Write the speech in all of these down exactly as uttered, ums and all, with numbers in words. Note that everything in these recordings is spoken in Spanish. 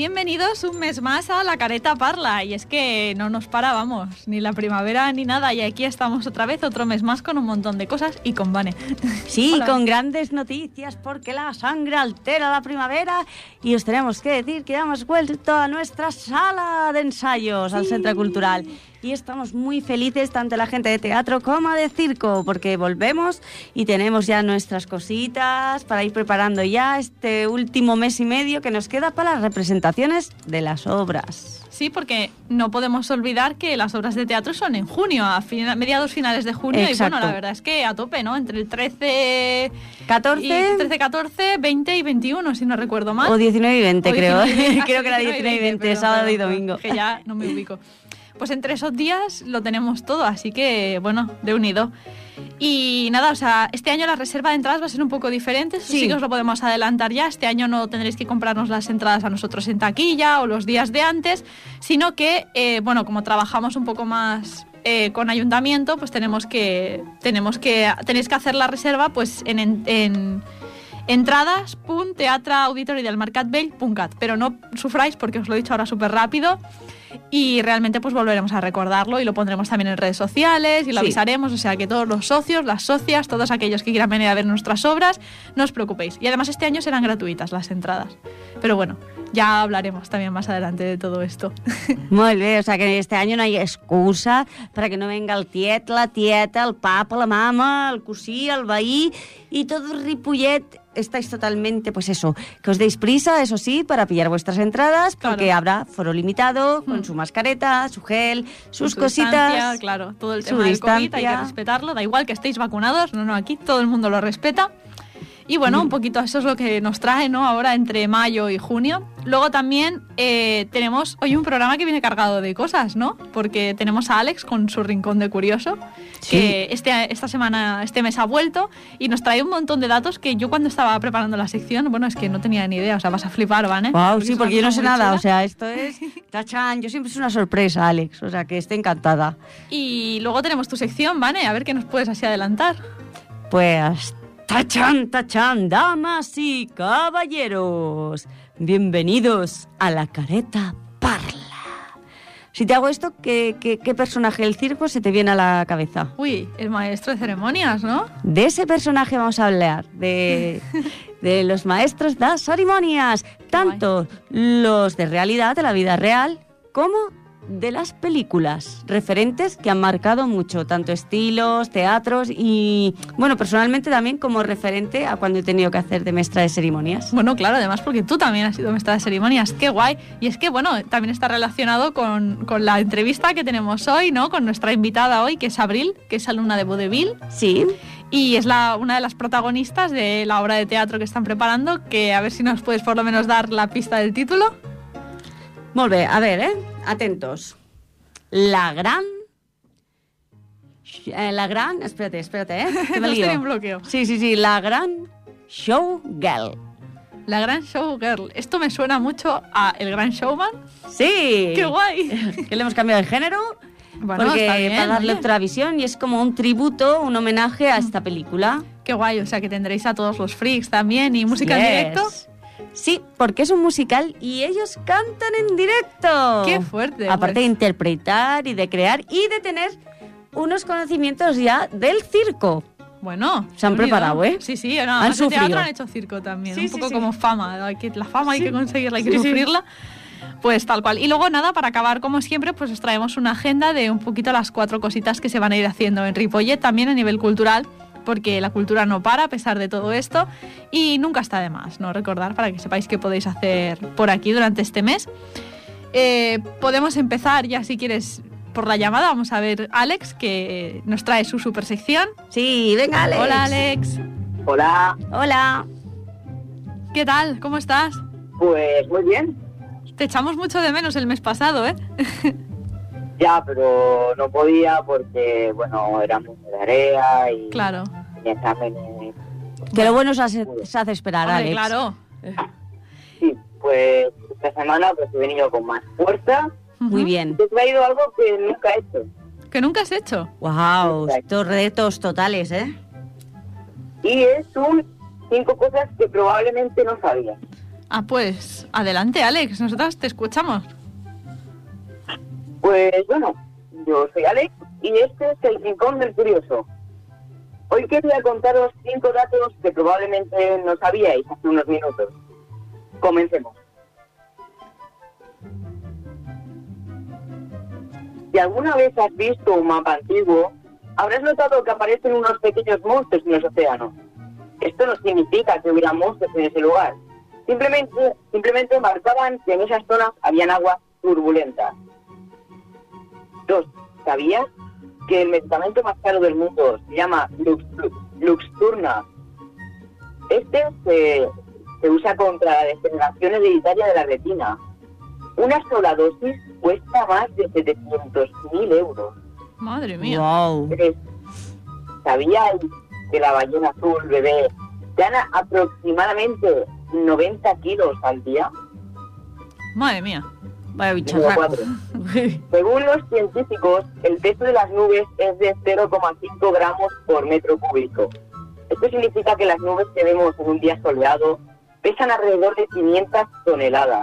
bienvenidos un mes más a La Careta Parla. Y es que no nos para, vamos, ni la primavera ni nada. Y aquí estamos otra vez, otro mes más, con un montón de cosas y con Vane. Sí, Hola. Con grandes noticias, porque la sangre altera la primavera. Y os tenemos que decir que ya hemos vuelto a nuestra sala de ensayos, sí, al Centro Cultural. Y estamos muy felices, tanto la gente de teatro como de circo, porque volvemos y tenemos ya nuestras cositas para ir preparando ya este último mes y medio que nos queda para las representaciones de las obras. Sí, porque no podemos olvidar que las obras de teatro son en junio, a fin- mediados finales de junio. Exacto. Y bueno, la verdad es que a tope, ¿no? Entre el trece, catorce, trece, catorce, veinte y veintiuno, si no recuerdo mal. O diecinueve y veinte, o creo. diecinueve, creo que era diecinueve y veinte, pero, sábado pero, y domingo. Que ya no me ubico. Pues entre esos días lo tenemos todo, así que, bueno, de unido. Y nada, o sea, este año la reserva de entradas va a ser un poco diferente, eso sí, sí que os lo podemos adelantar ya. Este año no tendréis que comprarnos las entradas a nosotros en taquilla o los días de antes, sino que, eh, bueno, como trabajamos un poco más eh, con ayuntamiento, pues tenemos que, tenemos que, tenéis que hacer la reserva pues en... en, en entradas punto teatre auditori del mercat vell punto cat, pero no sufráis porque os lo he dicho ahora súper rápido y realmente pues volveremos a recordarlo y lo pondremos también en redes sociales y lo sí. avisaremos, o sea que todos los socios, las socias, todos aquellos que quieran venir a ver nuestras obras, no os preocupéis. Y además este año serán gratuitas las entradas, pero bueno, ya hablaremos también más adelante de todo esto. Muy bien, o sea que este año no hay excusa para que no venga el tiet, la tieta, el papa, la mama, el cosí, el veí y todo el Ripollet. Estáis totalmente, pues eso, que os deis prisa, eso sí, para pillar vuestras entradas, porque claro, habrá foro limitado, con mm. su mascareta, su gel, sus su cositas. Claro, todo el tema del COVID hay que respetarlo, da igual que estéis vacunados, no, no, aquí todo el mundo lo respeta. Y bueno, un poquito eso es lo que nos trae, ¿no? Ahora entre mayo y junio. Luego también eh, tenemos hoy un programa que viene cargado de cosas, ¿no? Porque tenemos a Alex con su Rincón de Curioso, sí. que este, esta semana, este mes ha vuelto y nos trae un montón de datos que yo cuando estaba preparando la sección, bueno, es que no tenía ni idea, o sea, vas a flipar, ¿vale? Wow, porque sí, porque yo no sé nada, chula. O sea, esto es tachán, yo siempre es una sorpresa, Alex, o sea, que esté encantada. Y luego tenemos tu sección, ¿vale? A ver qué nos puedes así adelantar. Pues... ¡Tachán, tachán, damas y caballeros! Bienvenidos a La Careta Parla. Si te hago esto, ¿qué, qué, qué personaje del circo se te viene a la cabeza? Uy, el maestro de ceremonias, ¿no? De ese personaje vamos a hablar, de, de los maestros de las ceremonias, tanto los de realidad, de la vida real, como de las películas, referentes que han marcado mucho, tanto estilos, teatros y, bueno, personalmente también como referente a cuando he tenido que hacer de maestra de ceremonias. Bueno, claro, además porque tú también has sido maestra de ceremonias, qué guay. Y es que, bueno, también está relacionado con, con la entrevista que tenemos hoy, ¿no? Con nuestra invitada hoy, que es Abril, que es alumna de vodevil. Sí. Y es la, una de las protagonistas de la obra de teatro que están preparando, que a ver si nos puedes por lo menos dar la pista del título. Molt bé, a ver, eh? Atentos. La gran... Eh, la gran... Espérate, espérate, ¿eh? Que me lío. Estoy en bloqueo. Sí, sí, sí. La gran showgirl. La gran showgirl. Esto me suena mucho a El Gran Showman. Sí. ¡Qué guay! Que le hemos cambiado de género. Bueno, porque está bien, para darle oye. otra visión y es como un tributo, un homenaje a esta película. Qué guay, o sea que tendréis a todos los freaks también y música yes. en directo. Sí, porque es un musical y ellos cantan en directo. ¡Qué fuerte! Aparte pues. de interpretar y de crear y de tener unos conocimientos ya del circo. Bueno, se han preparado, ¿eh? Sí, sí, no, han en teatro han hecho circo también, sí, un sí, poco sí. como fama, hay que, la fama sí. hay que conseguirla, hay que sí, sufrirla. Sí. Pues tal cual. Y luego nada, para acabar como siempre, pues os traemos una agenda de un poquito las cuatro cositas que se van a ir haciendo en Ripollet, también a nivel cultural, porque la cultura no para a pesar de todo esto y nunca está de más, ¿no? Recordar para que sepáis qué podéis hacer por aquí durante este mes. Eh, podemos empezar ya si quieres por la llamada, vamos a ver Alex que nos trae su super sección. Sí, venga Alex. Hola Alex. Hola. Hola. ¿Qué tal? ¿Cómo estás? Pues muy bien. Te echamos mucho de menos el mes pasado, ¿eh? Ya, pero no podía porque, bueno, era mucha tarea y... Claro. Y exámenes... Que lo bueno se hace, se hace esperar, Hombre, Alex. Claro. Sí, pues esta semana pues he venido con más fuerza. Muy bien. Te he traído algo que nunca he hecho. ¿Que nunca has hecho? Wow, estos retos totales, ¿eh? Y es un cinco cosas que probablemente no sabías. Ah, pues adelante, Alex, nosotras te escuchamos. Pues bueno, yo soy Alex y este es el Rincón del Curioso. Hoy quería contaros cinco datos que probablemente no sabíais hace unos minutos. Comencemos. Si alguna vez has visto un mapa antiguo, habrás notado que aparecen unos pequeños monstruos en los océanos. Esto no significa que hubiera monstruos en ese lugar. Simplemente, simplemente marcaban que en esas zonas habían aguas turbulentas. Dos, ¿sabías que el medicamento más caro del mundo se llama Lux, Lux, Luxturna? Este se, se usa contra la degeneración hereditaria de la retina. Una sola dosis cuesta más de setecientos mil euros. Madre mía. Wow. Tres, ¿sabíais que la ballena azul bebé gana aproximadamente noventa kilos al día? Madre mía. Vaya Número bicharraco. cuatro. Según los científicos, el peso de las nubes es de cero coma cinco gramos por metro cúbico. Esto significa que las nubes que vemos en un día soleado pesan alrededor de quinientas toneladas.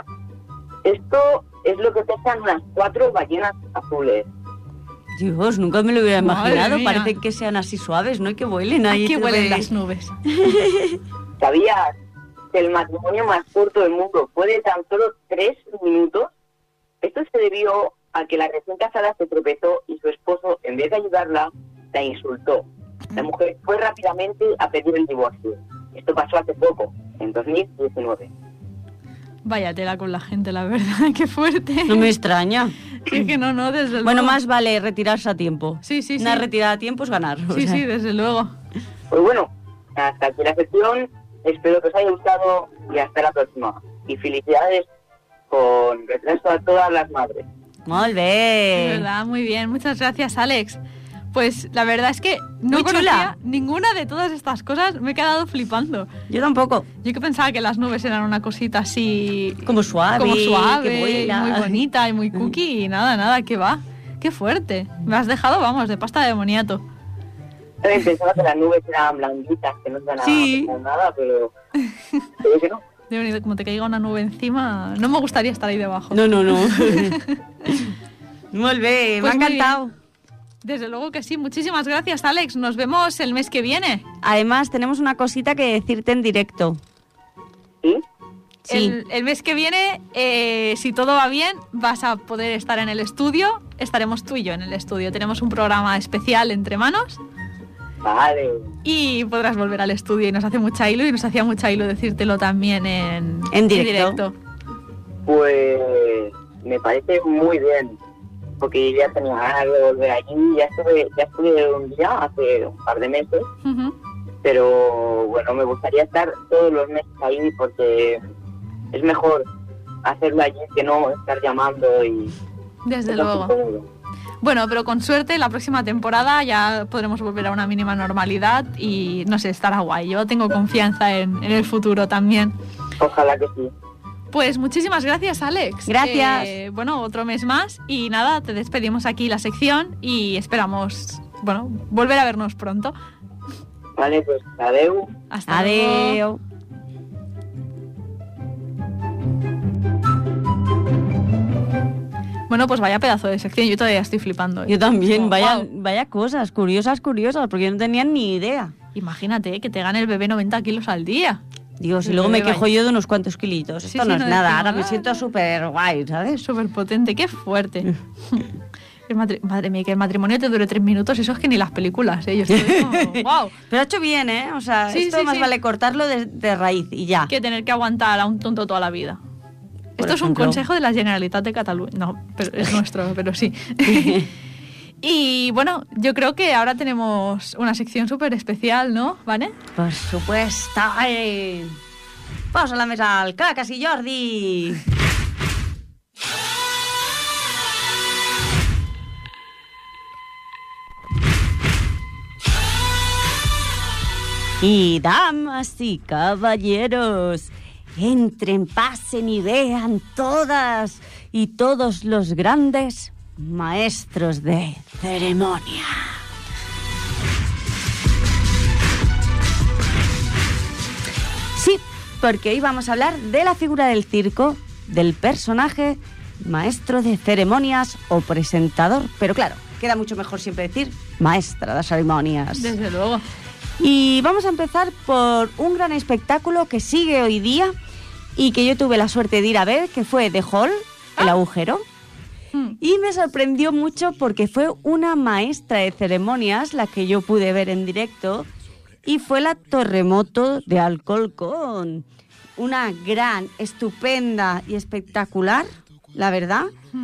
Esto es lo que pesan unas cuatro ballenas azules. Dios, nunca me lo hubiera Madre imaginado. mía. Parece que sean así suaves, ¿no? Y que vuelen ahí. Ay, que huelen pues. las nubes. ¿Sabías que el matrimonio más corto del mundo fue de tan solo tres minutos? Esto se debió a que la recién casada se tropezó y su esposo, en vez de ayudarla, la insultó. La mujer fue rápidamente a pedir el divorcio. Esto pasó hace poco, en dos mil diecinueve. Vaya tela con la gente, la verdad, qué fuerte. No me extraña. Sí, que no, no, desde luego. Bueno, más vale retirarse a tiempo. Sí, sí, sí. Una retirada a tiempo es ganar. o Sí, sea. sí, desde luego. Pues bueno, hasta aquí la sección. Espero que os haya gustado y hasta la próxima. Y felicidades con retraso a todas las madres. Molt De bé. verdad, muy bien. Muchas gracias, Alex. Pues la verdad es que no Muy conocía chula. ninguna de todas estas cosas. Me he quedado flipando. Yo tampoco. Yo que pensaba que las nubes eran una cosita así... Como suave. como suave, que vuela. muy bonita y muy cookie. Y nada, nada, que va. Qué fuerte. Me has dejado, vamos, de pasta de boniato. También pensaba que las nubes eran blanditas, que no iban a Sí. pasar nada, pero creo que no. De verdad, como te caiga una nube encima, no me gustaría estar ahí debajo. No, no, no. Molt bé, Pues me ha muy encantado. bien. Desde luego que sí. Muchísimas gracias, Alex. Nos vemos el mes que viene. Además, tenemos una cosita que decirte en directo. ¿Sí? Sí. El, el mes que viene, eh, si todo va bien, vas a poder estar en el estudio. Estaremos tú y yo en el estudio. Tenemos un programa especial entre manos Vale. y podrás volver al estudio. Y nos hace mucha ilu y nos hacía mucha ilu decírtelo también en, En directo. Pues me parece muy bien, porque ya tenía ganas de volver allí. Ya estuve, ya estuve un día hace un par de meses, Ujú. pero bueno, me gustaría estar todos los meses ahí porque es mejor hacerlo allí que no estar llamando y... Desde es más luego. cómodo. Bueno, pero con suerte la próxima temporada ya podremos volver a una mínima normalidad y no sé, estará guay. Yo tengo confianza en, en el futuro también. Ojalá que sí. Pues muchísimas gracias, Alex. Gracias. Eh, bueno, otro mes más y nada, te despedimos aquí la sección y esperamos, bueno, volver a vernos pronto. Vale, pues adeu. Hasta luego. Adeu. Bueno, pues vaya pedazo de sección, yo todavía estoy flipando. ¿eh? Yo también, Oh, vaya, wow. vaya cosas, curiosas, curiosas, porque yo no tenía ni idea. Imagínate que te gane el bebé noventa kilos al día. Dios, y El luego me bebé quejo vaya. yo de unos cuantos kilitos. Sí, Esto sí, no es no nada, decimos ahora me nada. siento súper guay, ¿sabes? Súper potente, qué fuerte. El matri- Madre mía, que el matrimonio te dure tres minutos, eso es que ni las películas, ¿eh? Yo estoy como, wow. Pero ha hecho bien, ¿eh? O sea, Sí, esto sí, más sí. vale cortarlo de, de raíz y ya. Que tener que aguantar a un tonto toda la vida. Por Esto es un ejemplo. consejo de la Generalitat de Cataluña. No, pero es nuestro, pero sí. Y bueno, yo creo que ahora tenemos una sección súper especial, ¿no? ¿Vale? Por supuesto. Ai. Posa la mesa al Cacas i Jordi. Y damas y caballeros, entren, pasen y vean todas y todos los grandes maestros de ceremonia. Sí, porque hoy vamos a hablar de la figura del circo, del personaje maestro de ceremonias o presentador. Pero claro, queda mucho mejor siempre decir maestra de ceremonias. Desde luego. Y vamos a empezar por un gran espectáculo que sigue hoy día y que yo tuve la suerte de ir a ver, que fue The Hall, El Agujero. Y me sorprendió mucho porque fue una maestra de ceremonias la que yo pude ver en directo, y fue la Terremoto de Alcorcón. Una gran, estupenda y espectacular, la verdad.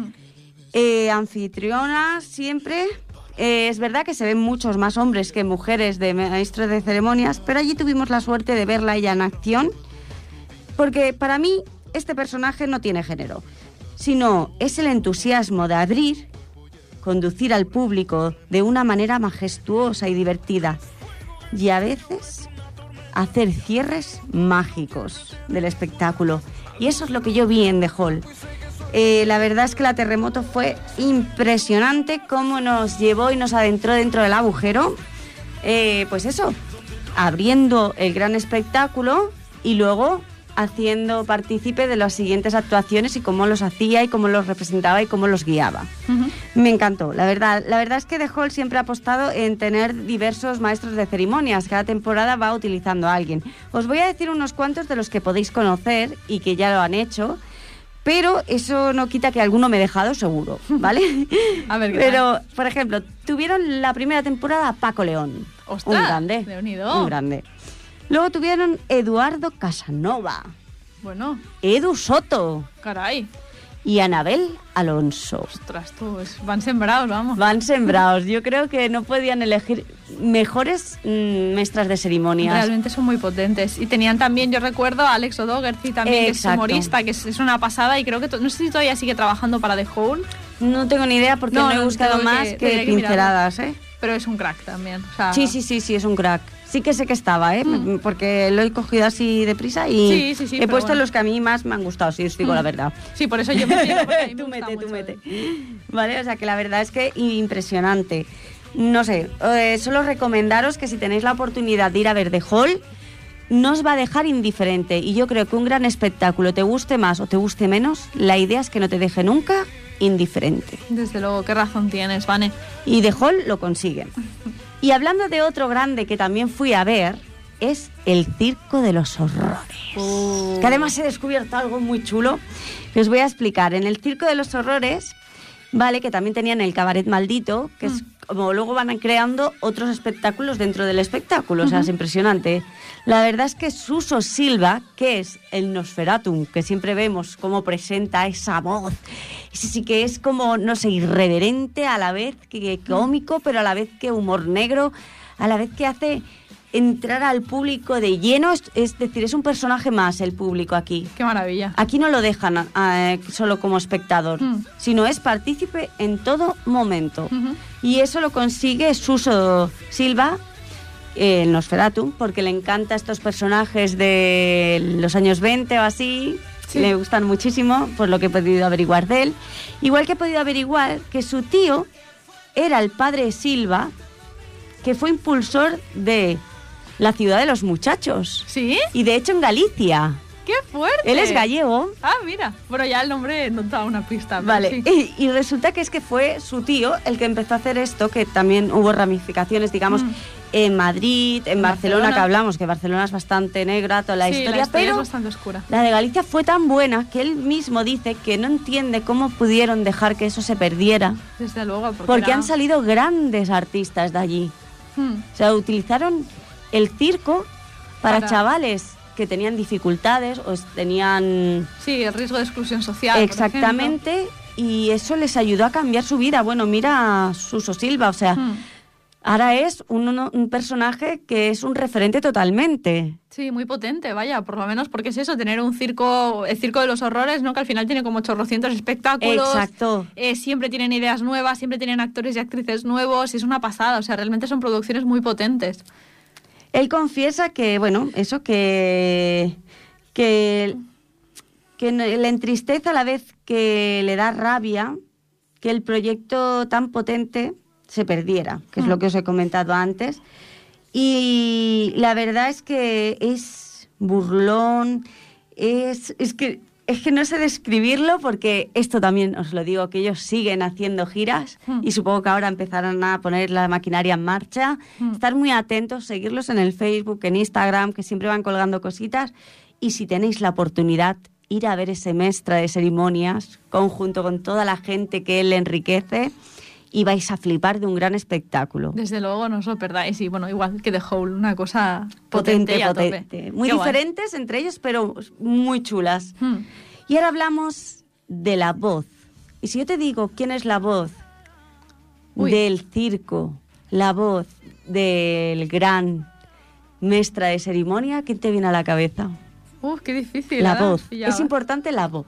Eh, anfitriona siempre. Eh, es verdad que se ven muchos más hombres que mujeres de maestros de ceremonias, pero allí tuvimos la suerte de verla ella en acción, porque para mí este personaje no tiene género, sino es el entusiasmo de abrir, conducir al público de una manera majestuosa y divertida, y a veces hacer cierres mágicos del espectáculo. Y eso es lo que yo vi en The Hall. Eh, la verdad es que la Terremoto fue impresionante cómo nos llevó y nos adentró dentro del agujero. Eh, pues eso, abriendo el gran espectáculo y luego haciendo partícipe de las siguientes actuaciones y cómo los hacía y cómo los representaba y cómo los guiaba. Uh-huh. Me encantó, la verdad. La verdad es que The Hall siempre ha apostado en tener diversos maestros de ceremonias. Cada temporada va utilizando a alguien. Os voy a decir unos cuantos de los que podéis conocer y que ya lo han hecho, pero eso no quita que alguno me he dejado seguro, ¿vale? A ver, ¿qué Pero, tal? por ejemplo, tuvieron la primera temporada a Paco León. ¡Ostras! Un grande. De unido. Un grande. Luego tuvieron Eduardo Casanova. Bueno. Edu Soto. Caray. Y Anabel Alonso. Ostras, tú, es, van sembrados, vamos. Van sembrados. Yo creo que no podían elegir mejores mmm, maestras de ceremonias. Realmente son muy potentes. Y tenían también, yo recuerdo, a Alex O'Doherty también, Exacto. que es humorista, que es, es una pasada, y creo que, to- no sé si todavía sigue trabajando para The Hall. No tengo ni idea porque no, no he buscado más que, que pinceladas, ¿eh? Pero es un crack también. O sea, sí, sí, sí, sí, es un crack. Sí que sé que estaba, ¿eh? Mm. Porque lo he cogido así deprisa y sí, sí, sí, he puesto bueno. los que a mí más me han gustado, si os digo mm. la verdad. Sí, por eso yo me entiendo, porque a mí me Tú gusta mete, mucho. tú mete. Vale, o sea que la verdad es que impresionante. No sé, eh, solo recomendaros que si tenéis la oportunidad de ir a ver The Hall, no os va a dejar indiferente. Y yo creo que un gran espectáculo, te guste más o te guste menos, la idea es que no te deje nunca indiferente. Desde luego, qué razón tienes, Vane. Y The Hall lo consiguen. Y hablando de otro grande que también fui a ver, es el Circo de los Horrores. Oh. Que además he descubierto algo muy chulo que os voy a explicar. En el Circo de los Horrores, vale, que también tenían el Cabaret Maldito, que mm. es como luego van creando otros espectáculos dentro del espectáculo. Uh-huh. O sea, es impresionante. La verdad es que Suso Silva, que es el Nosferatum, que siempre vemos cómo presenta esa voz, ese sí que es como, no sé, irreverente, a la vez que cómico, pero a la vez que humor negro, a la vez que hace entrar al público de lleno, es, es decir, es un personaje más el público aquí. ¡Qué maravilla! Aquí no lo dejan eh, solo como espectador, mm. sino es partícipe en todo momento. Uh-huh. Y eso lo consigue Suso Silva, el eh, Nosferatu, porque le encanta estos personajes de los años veinte o así. Sí. Le gustan muchísimo, por lo que he podido averiguar de él. Igual que he podido averiguar que su tío era el padre Silva, que fue impulsor de la Ciudad de los Muchachos. ¿Sí? Y de hecho en Galicia. ¡Qué fuerte! Él es gallego. Ah, mira. Bueno, ya el nombre no da una pista. Vale. Sí. Y, y resulta que es que fue su tío el que empezó a hacer esto, que también hubo ramificaciones, digamos, mm. en Madrid, en, en Barcelona, Barcelona, que hablamos, que Barcelona es bastante negra, toda la sí, historia, la historia pero es bastante oscura. La de Galicia fue tan buena que él mismo dice que no entiende cómo pudieron dejar que eso se perdiera. Desde luego. Porque, porque era... han salido grandes artistas de allí. Hmm. O sea, utilizaron el circo para, para chavales que tenían dificultades o tenían... Sí, el riesgo de exclusión social. Exactamente, y eso les ayudó a cambiar su vida. Bueno, mira a Suso Silva, o sea, hmm. ahora es un, un personaje que es un referente totalmente. Sí, muy potente, vaya, por lo menos porque es eso, tener un circo, el Circo de los Horrores, ¿no? Que al final tiene como ochocientos espectáculos. Exacto. Eh, siempre tienen ideas nuevas, siempre tienen actores y actrices nuevos, y es una pasada, o sea, realmente son producciones muy potentes. Él confiesa que, bueno, eso, que, que, que le entristece a la vez que le da rabia que el proyecto tan potente se perdiera, que es lo que os he comentado antes. Y la verdad es que es burlón, es, es que... Es que no sé describirlo porque esto también os lo digo, que ellos siguen haciendo giras Hmm. y supongo que ahora empezarán a poner la maquinaria en marcha. Hmm. Estar muy atentos, seguirlos en el Facebook, en Instagram, que siempre van colgando cositas. Y si tenéis la oportunidad, ir a ver ese Mestre de Ceremonias, conjunto con toda la gente que él le enriquece, y vais a flipar de un gran espectáculo. Desde luego, no os lo perdáis. Y bueno, igual que The Hole, una cosa potente, Potente, y a tope. potente. Muy Qué guay. diferentes entre ellos, pero muy chulas. Hmm. Y ahora hablamos de la voz. Y si yo te digo quién es la voz Uy. del circo, la voz del gran Mestre de Ceremonia, ¿quién te viene a la cabeza? Uf, qué difícil. La ara voz. pillava. Es importante la voz.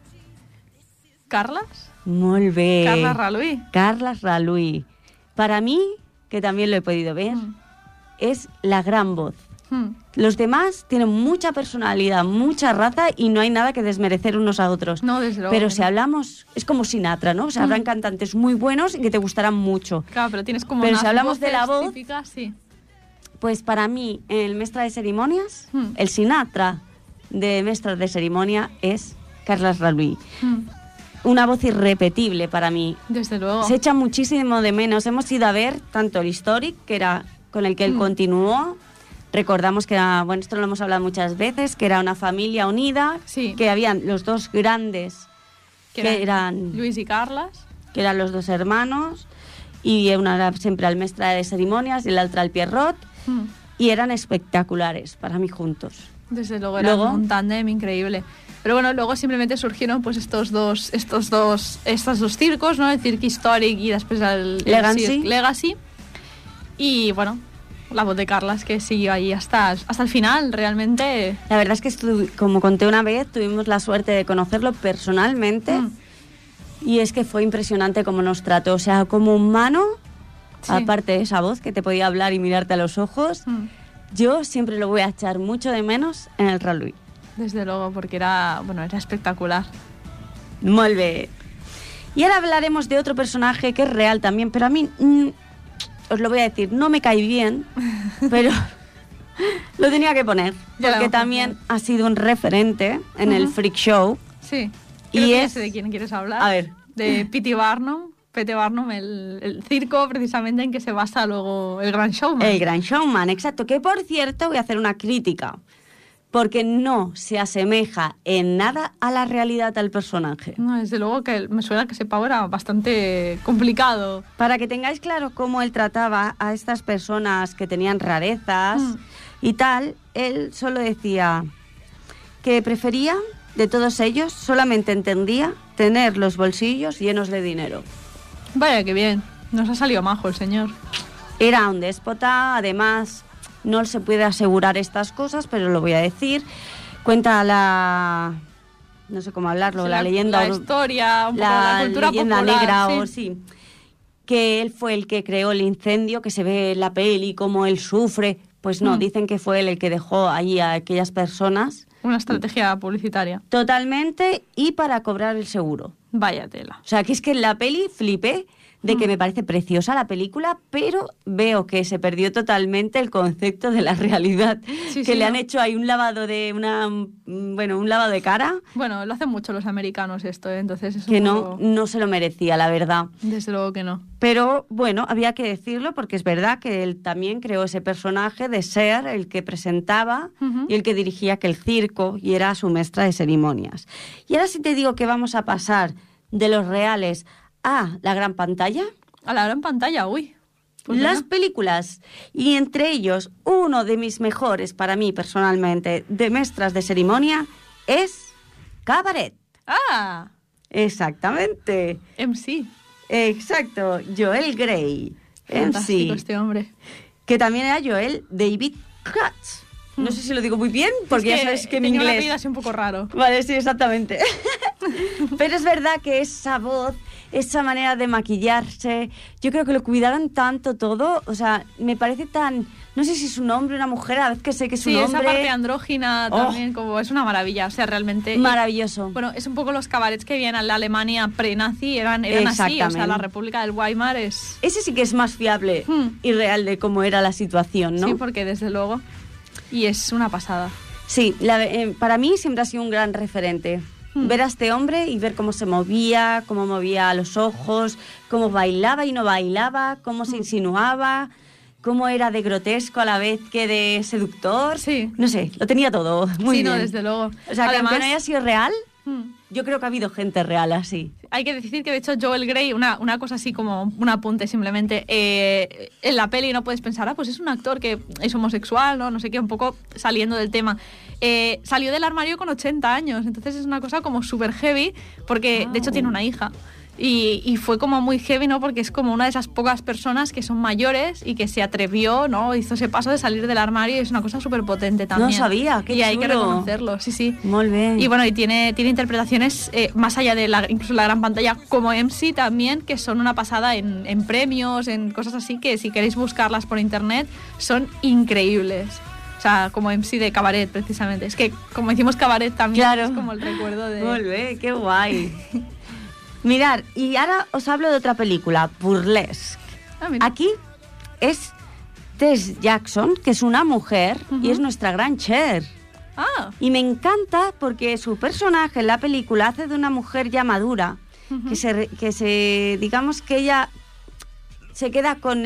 ¿Carlas? Molt bé. Carles Raluí. Carles Raluí. Para mí, que también lo he podido ver, Hmm. es la gran voz. Hmm. Los demás tienen mucha personalidad, mucha raza y no hay nada que desmerecer unos a otros. No, desde luego. Pero que si no. hablamos, es como Sinatra, ¿no? O sea, Mm. habrán cantantes muy buenos y que te gustarán mucho. Claro, pero tienes como Pero unas si hablamos de la voces voz- típicas, sí. Pues para mí, el Mestre de Ceremonias, Mm. el Sinatra de Mestre de Ceremonia es Carles Raluí. Hmm. Una voz irrepetible para mí. Desde luego. Se echa muchísimo de menos. Hemos ido a ver tanto el Historic, que era con el que él Mm. continuó. Recordamos que era, bueno, esto lo hemos hablado muchas veces, que era una familia unida, Sí. que habían los dos grandes, que eran, Luis y Carlas. que eran los dos hermanos, y una era siempre el Mestre de Ceremonias y la otra el Pierrot, Hmm. y eran espectaculares para mí juntos. Desde luego era Luego- un tándem increíble. Pero bueno, luego simplemente surgieron pues estos dos, estos dos, estos dos circos, ¿no? El Cirque Historic y después el, el Legacy. Cirque Legacy. Y bueno, la voz de Carlas que siguió ahí hasta, hasta el final, realmente. La verdad es que, estu- como conté una vez, tuvimos la suerte de conocerlo personalmente, Mm. y es que fue impresionante cómo nos trató. O sea, como humano, Sí. aparte de esa voz que te podía hablar y mirarte a los ojos, Mm. yo siempre lo voy a echar mucho de menos en el Raluí. Desde luego, porque era, bueno, era espectacular. Molt bé. Y ahora hablaremos de otro personaje que es real también, pero a mí, mm, os lo voy a decir, no me cae bien, pero lo tenía que poner, Ya lo porque vamos a también ha sido un referente en el Ujú. Freak Show. Sí. Y Creo que ya es- sé de quién quieres hablar. A ver. De P T Barnum. P T Barnum, el, el circo precisamente en que se basa luego el Gran Showman. El Gran Showman, exacto. Que por cierto, voy a hacer una crítica, porque no se asemeja en nada a la realidad del personaje. No, desde luego que me suena que ese pavo era bastante complicado. Para que tengáis claro cómo él trataba a estas personas que tenían rarezas Mm. y tal, él solo decía que prefería, de todos ellos, solamente entendía tener los bolsillos llenos de dinero. Vaya que bien, nos ha salido majo el señor. Era un déspota, además no se puede asegurar estas cosas, pero lo voy a decir. Cuenta la... no sé cómo hablarlo, Sí, la, leyenda... La ur- historia, un poco la, la cultura leyenda popular, negra, sí. o sí, que él fue el que creó el incendio, que se ve en la peli, cómo él sufre. Pues no, Mm. dicen que fue él el que dejó allí a aquellas personas Una estrategia publicitaria. totalmente, y para cobrar el seguro. Vaya tela. O sea, que es que en la peli flipé de que Mm. me parece preciosa la película, pero veo que se perdió totalmente el concepto de la realidad. Sí, que sí, le han ¿no? hecho ahí un lavado de una, mm, bueno, un lavado de cara Bueno, lo hacen mucho los americanos esto, ¿eh? Entonces es un que no, poco- no se lo merecía, la verdad. Desde luego que no. Pero bueno, había que decirlo porque es verdad que él también creó ese personaje de ser el que presentaba Ujú. y el que dirigía aquel circo y era su maestra de ceremonias. Y ahora sí te digo que vamos a pasar de los reales a la gran pantalla, A la gran pantalla, uy. Pues las venga. películas, y entre ellos uno de mis mejores para mí personalmente de maestras de ceremonia es Cabaret. ¡Ah! Exactamente. M C. Exacto, Joel Grey. En Fantástico sí. este hombre. Que también era Joel David Katz. No sé si lo digo muy bien, porque Es ya sabes que mi tenía un inglés... apellido así un poco raro. Vale, sí, exactamente. Pero es verdad que esa voz, esa manera de maquillarse, yo creo que lo cuidaron tanto todo, o sea, me parece tan... No sé si es un hombre o una mujer, a veces que sé que es Sí, un esa hombre... parte andrógina Oh. también, como es una maravilla. O sea, realmente... Maravilloso. Bueno, es un poco los cabarets que vienen a la Alemania pre-nazi, eran, eran así. O sea, Exactamente. la República del Weimar es... Ese sí que es más fiable Hmm. y real de cómo era la situación, ¿no? Sí, porque desde luego... Y es una pasada. Sí, la, eh, para mí siempre ha sido un gran referente. Hmm. Ver a este hombre y ver cómo se movía, cómo movía los ojos, cómo bailaba y no bailaba, cómo se insinuaba, cómo era de grotesco a la vez que de seductor. Sí. No sé, lo tenía todo muy sí, bien. Sí, no, desde luego. O sea, Además, que aunque no haya sido real, hmm. yo creo que ha habido gente real así. Hay que decir que, de hecho, Joel Grey, una, una cosa así como un apunte simplemente, eh, en la peli no puedes pensar, ah, pues es un actor que es homosexual, ¿no? No sé qué, un poco saliendo del tema. Eh, salió del armario con ochenta años, entonces es una cosa como súper heavy, porque wow. de hecho tiene una hija. Y, y fue como muy heavy, ¿no? Porque es como una de esas pocas personas que son mayores y que se atrevió, ¿no? Hizo ese paso de salir del armario y es una cosa súper potente también. No sabía, qué Y chulo. hay que reconocerlo, sí, sí. Muy bien. Y bueno, y tiene, tiene interpretaciones eh, más allá de la, incluso la gran pantalla, como M C también, que son una pasada en, en premios, en cosas así, que si queréis buscarlas por internet, son increíbles. O sea, como M C de cabaret, precisamente. Es que como hicimos cabaret también, claro. es como el recuerdo de... Muy bien, qué guay. Mirad, y ahora os hablo de otra película, Burlesque. Ah, mira. Aquí es Tess Jackson, que es una mujer, uh-huh. y es nuestra gran Cher. Ah. Y me encanta porque su personaje en la película hace de una mujer ya madura, uh-huh. que, se, que se, digamos que ella se queda con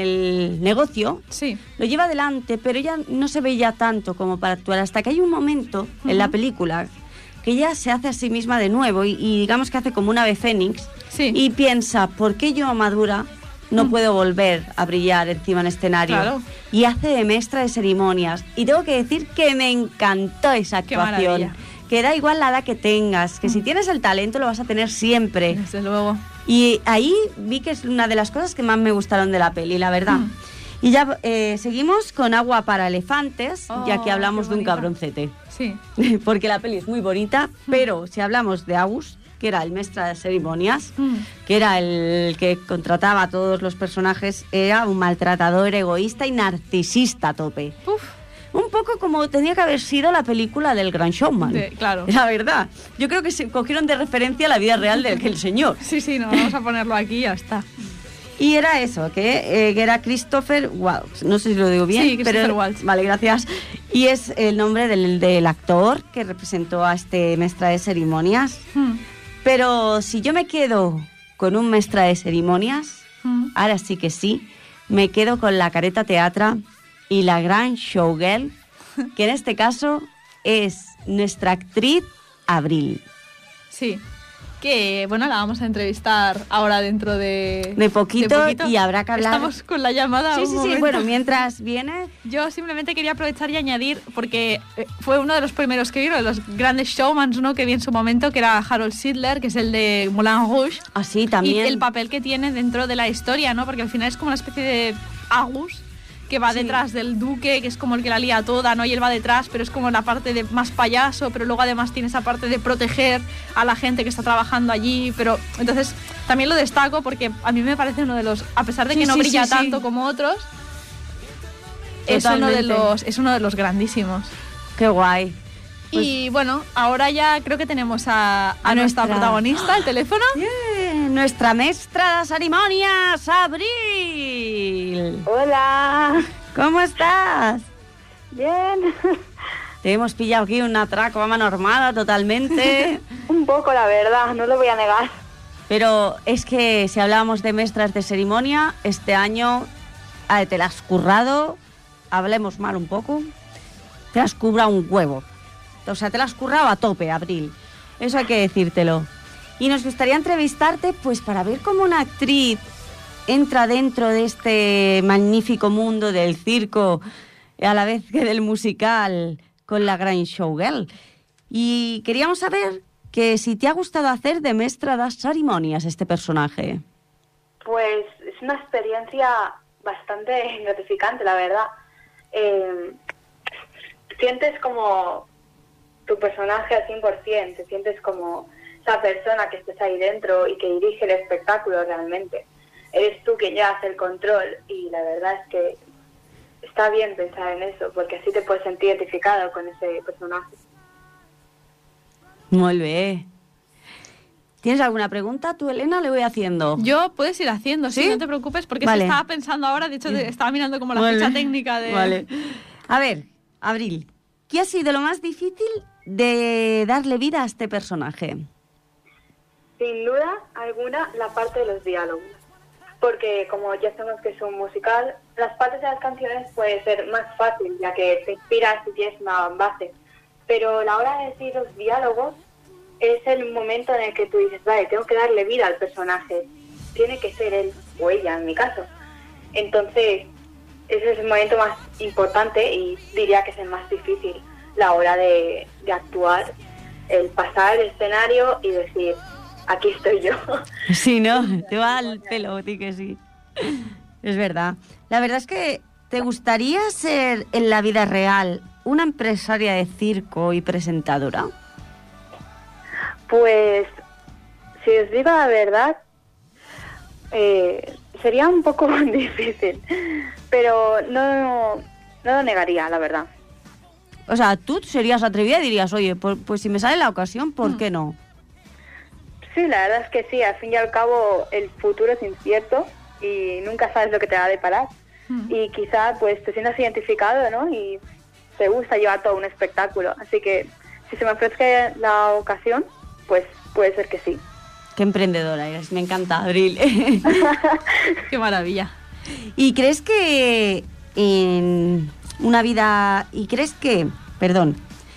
el negocio, sí. lo lleva adelante, pero ella no se veía tanto como para actuar, hasta que hay un momento uh-huh. en la película que ella se hace a sí misma de nuevo y, y digamos que hace como un ave fénix sí. y piensa, ¿por qué yo madura no mm. puedo volver a brillar encima en escenario? Claro. Y hace de maestra de ceremonias. Y tengo que decir que me encantó esa actuación. Que da igual la edad que tengas, que mm. si tienes el talento lo vas a tener siempre. Desde luego. Y ahí vi que es una de las cosas que más me gustaron de la peli, la verdad. Mm. Y ya eh, seguimos con Agua para elefantes, oh, ya que hablamos de un cabroncete. Sí. Porque la peli es muy bonita, mm. pero si hablamos de August, que era el maestre de ceremonias, mm. que era el que contrataba a todos los personajes, era un maltratador, egoísta y narcisista a tope. Uf. Un poco como tenía que haber sido la película del Gran Showman. De, claro. La verdad. Yo creo que se cogieron de referencia la vida real del el señor. Sí, sí, no, vamos a ponerlo aquí y ya está. Y era eso, que, eh, que era Christopher Waltz. No sé si lo digo bien. Sí, Christopher pero, Waltz. Vale, gracias. Y es el nombre del, del actor que representó a este maestra de ceremonias. Hmm. Pero si yo me quedo con un maestra de ceremonias, hmm. ahora sí que sí, me quedo con la Careta Teatra y la gran showgirl, que en este caso es nuestra actriz Abril. Sí. Que, bueno, la vamos a entrevistar ahora dentro de... De poquito, de poquito. Y habrá que hablar... Estamos con la llamada. Sí, un sí, momento. sí. Bueno, mientras viene... Yo simplemente quería aprovechar y añadir, porque fue uno de los primeros que vieron, los grandes showmans, ¿no?, que vi en su momento, que era Harold Sidler, que es el de Moulin Rouge. Ah, sí, también. Y el papel que tiene dentro de la historia, ¿no? Porque al final es como una especie de August, que va sí. detrás del duque, que es como el que la lía toda, ¿no? Y él va detrás, pero es como la parte de más payaso, pero luego además tiene esa parte de proteger a la gente que está trabajando allí, pero entonces también lo destaco porque a mí me parece uno de los, a pesar de que sí, no sí, brilla sí, tanto sí. como otros, es uno, de los, es uno de los grandísimos. Qué guay. Pues, y bueno, ahora ya creo que tenemos a, a, a nuestra, nuestra protagonista, el teléfono. Yeah, nuestra maestra de ceremonias, Abril. Hola. ¿Cómo estás? Bien. Te hemos pillado aquí un atraco a mano armada totalmente. Un poco, la verdad, no lo voy a negar. Pero es que si hablábamos de maestras de ceremonia, este año eh, te la has currado, hablemos mal un poco, te has currado un huevo. O sea, te la has currado a tope, Abril. Eso hay que decírtelo. Y nos gustaría entrevistarte, pues, para ver cómo una actriz entra dentro de este magnífico mundo del circo, a la vez que del musical, con la gran showgirl. Y queríamos saber que si te ha gustado hacer de maestra de ceremonias este personaje. Pues es una experiencia bastante gratificante, la verdad. Eh, sientes como tu personaje al cien por ciento, te sientes como esa persona que estés ahí dentro y que dirige el espectáculo realmente. Eres tú quien llevas el control y la verdad es que está bien pensar en eso, porque así te puedes sentir identificado con ese personaje. Muy bien. ¿Tienes alguna pregunta? Tú, Elena, le voy haciendo. Yo puedes ir haciendo, sí, ¿sí? No te preocupes, porque vale. estaba pensando ahora, de hecho, estaba mirando como la vale. ficha técnica de... Vale. A ver, Abril, ¿qué ha sido lo más difícil de darle vida a este personaje? Sin duda alguna, la parte de los diálogos. Porque como ya sabemos que es un musical, las partes de las canciones puede ser más fácil, ya que te inspiras y tienes una base. Pero la hora de decir los diálogos es el momento en el que tú dices, vale, tengo que darle vida al personaje. Tiene que ser él o ella, en mi caso. Entonces, ese es el momento más importante y diría que es el más difícil, la hora de, de actuar, el pasar el escenario y decir, aquí estoy yo. Sí, ¿no? Te va al pelo, a ti que sí. Es verdad. La verdad es que ¿te gustaría ser en la vida real una empresaria de circo y presentadora? Pues, si os digo la verdad, eh, sería un poco difícil, pero no, no lo negaría, la verdad. O sea, tú serías atrevida y dirías, oye, pues, pues si me sale la ocasión, ¿por qué no? Sí, la verdad es que sí, al fin y al cabo el futuro es incierto y nunca sabes lo que te va a deparar. Mm. Y quizá pues te sientas identificado, ¿no? Y te gusta llevar todo un espectáculo. Así que si se me ofrece la ocasión, pues puede ser que sí. Qué emprendedora eres, me encanta, Abril. Qué maravilla. ¿Y crees que en una vida... ¿Y crees que... Perdón...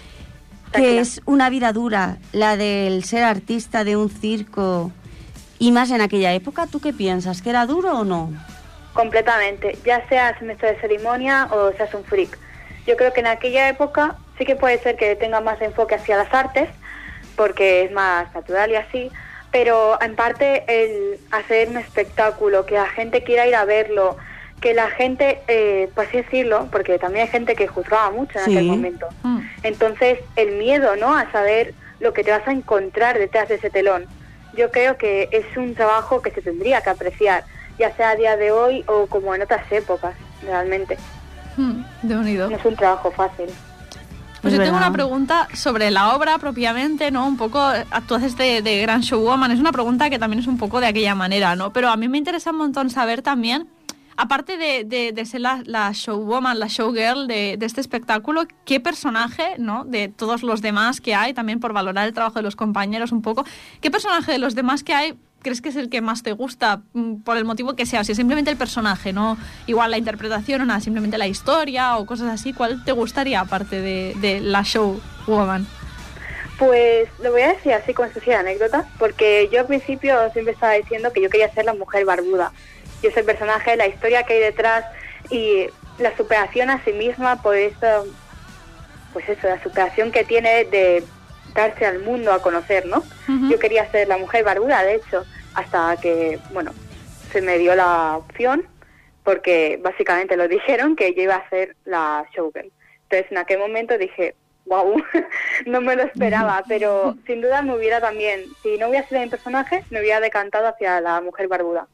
que es una vida dura la del ser artista de un circo y más en aquella época? ¿Tú qué piensas? ¿Que era duro o no? Completamente, ya seas maestro de ceremonia o seas un freak. Yo creo que en aquella época sí que puede ser que tenga más enfoque hacia las artes, porque es más natural y así, pero en parte el hacer un espectáculo, que la gente quiera ir a verlo, que la gente, eh, por así decirlo, porque también hay gente que juzgaba mucho en sí. aquel momento. Mm. Entonces, el miedo, ¿no?, a saber lo que te vas a encontrar detrás de ese telón. Yo creo que es un trabajo que se tendría que apreciar, ya sea a día de hoy o como en otras épocas, realmente. Mm, de unido. No es un trabajo fácil. Pues yo tengo una pregunta sobre la obra propiamente, ¿no? Un poco, tú haces de, de Gran Showwoman, es una pregunta que también es un poco de aquella manera, ¿no? Pero a mí me interesa un montón saber también, aparte de, de, de ser la, la showwoman, la showgirl de, de este espectáculo, ¿qué personaje, ¿no?, de todos los demás que hay, también por valorar el trabajo de los compañeros un poco, qué personaje de los demás que hay crees que es el que más te gusta, por el motivo que sea? Si es simplemente el personaje, no igual la interpretación o nada, simplemente la historia o cosas así, ¿cuál te gustaría aparte de, de la showwoman? Pues lo voy a decir así como si fuera anécdota, porque yo al principio siempre estaba diciendo que yo quería ser la mujer barbuda. Y es el personaje, la historia que hay detrás y la superación a sí misma por eso, pues eso, la superación que tiene de darse al mundo a conocer, ¿no? Uh-huh. Yo quería ser la mujer barbuda, de hecho, hasta que, bueno, se me dio la opción, porque básicamente lo dijeron que yo iba a ser la showgirl. Entonces en aquel momento dije, wow, no me lo esperaba, pero sin duda me hubiera también, si no hubiera sido mi personaje, me hubiera decantado hacia la mujer barbuda.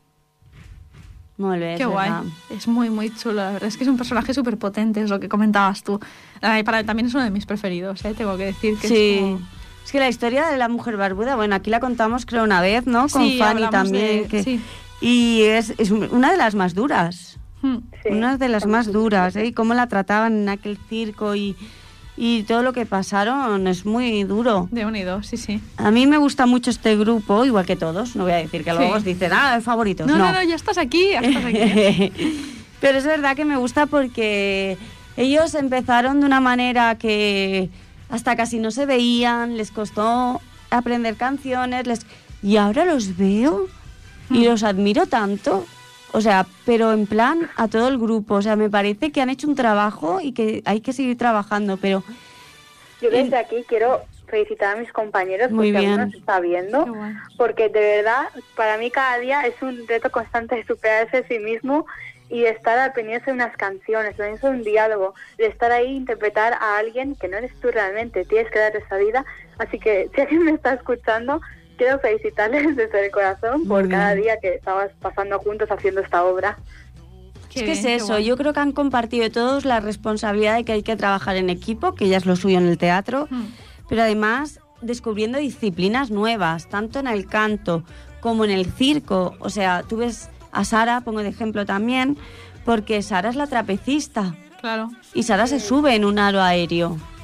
Muy bien, qué guay, verdad. Es muy muy chulo, la verdad es que es un personaje súper potente, es lo que comentabas tú. Ay, para, también es uno de mis preferidos, ¿eh? Tengo que decir que sí. es como... Es que la historia de la mujer barbuda, bueno, aquí la contamos creo una vez, ¿no? Con sí, Fanny también. De, que, sí. Y es, es una de las más duras, hmm. sí, una de las más duras, ¿eh? Y cómo la trataban en aquel circo y... Y todo lo que pasaron es muy duro. De unido, sí, sí. A mí me gusta mucho este grupo, igual que todos. No voy a decir que luego sí. os dicen, ah, favoritos. No, no, no, no, ya estás aquí, ya estás aquí. Pero es verdad que me gusta porque ellos empezaron de una manera que hasta casi no se veían, les costó aprender canciones, les y ahora los veo y mm. los admiro tanto. O sea, pero en plan a todo el grupo. O sea, me parece que han hecho un trabajo y que hay que seguir trabajando, pero... Yo desde aquí quiero felicitar a mis compañeros Muy porque bien. algunos está viendo, bueno. porque de verdad, para mí cada día es un reto constante de superarse a sí mismo y de estar al pendiente de unas canciones, al pendiente de un diálogo, de estar ahí e interpretar a alguien que no eres tú realmente, tienes que dar esa vida. Así que si alguien me está escuchando... Quiero felicitarles desde el corazón por cada día que estabas pasando juntos haciendo esta obra. Es que es eso, yo creo que han compartido todos la responsabilidad de que hay que trabajar en equipo, que ya es lo suyo en el teatro, mm. pero además descubriendo disciplinas nuevas, tanto en el canto como en el circo. O sea, tú ves a Sara, pongo de ejemplo también, porque Sara es la trapecista. Claro. Y Sara se sube en un aro aéreo.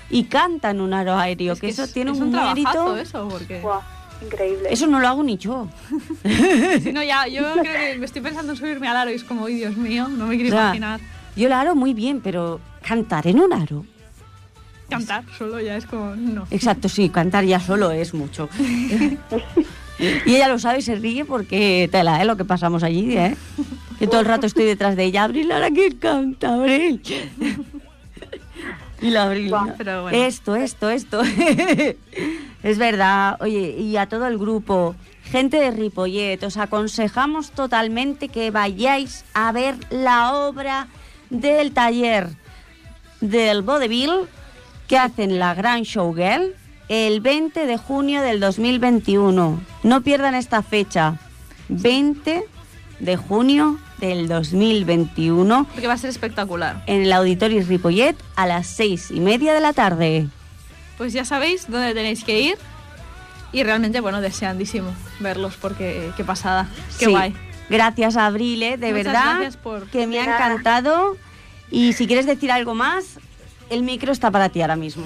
y canta en un aro aéreo, Es que, que eso es, tiene es un, un mérito. trabajazo eso, porque... Guau, increíble. Eso no lo hago ni yo. Si no, ya, yo creo que me estoy pensando en subirme al aro y es como, ¡ay, Dios mío! No me quiero O sea, imaginar. Yo el aro muy bien, pero cantar en un aro. Cantar solo ya es como, no. Exacto, sí, cantar ya solo es mucho. Y ella lo sabe y se ríe porque tela, ¿eh? Lo que pasamos allí, ¿eh? Que todo el rato estoy detrás de ella. Abril, ahora que canta, Abril. Y la Abril. Buah, pero bueno. Esto, esto, esto. Es verdad. Oye, y a todo el grupo, gente de Ripollet, os aconsejamos totalmente que vayáis a ver la obra del taller del vodevil que hacen la Gran Showgirl el veinte de junio del dos mil veintiuno. No pierdan esta fecha. veinte de junio del dos mil veintiuno. Porque va a ser espectacular. En el Auditorio Ripollet a las seis y media de la tarde. Pues ya sabéis dónde tenéis que ir. Y realmente, bueno, deseandísimo verlos porque qué pasada. Qué Sí. guay. Gracias, Abril, ¿eh? de Muchas verdad, gracias por- que me De ha nada. encantado. Y si quieres decir algo más, el micro está para ti ahora mismo.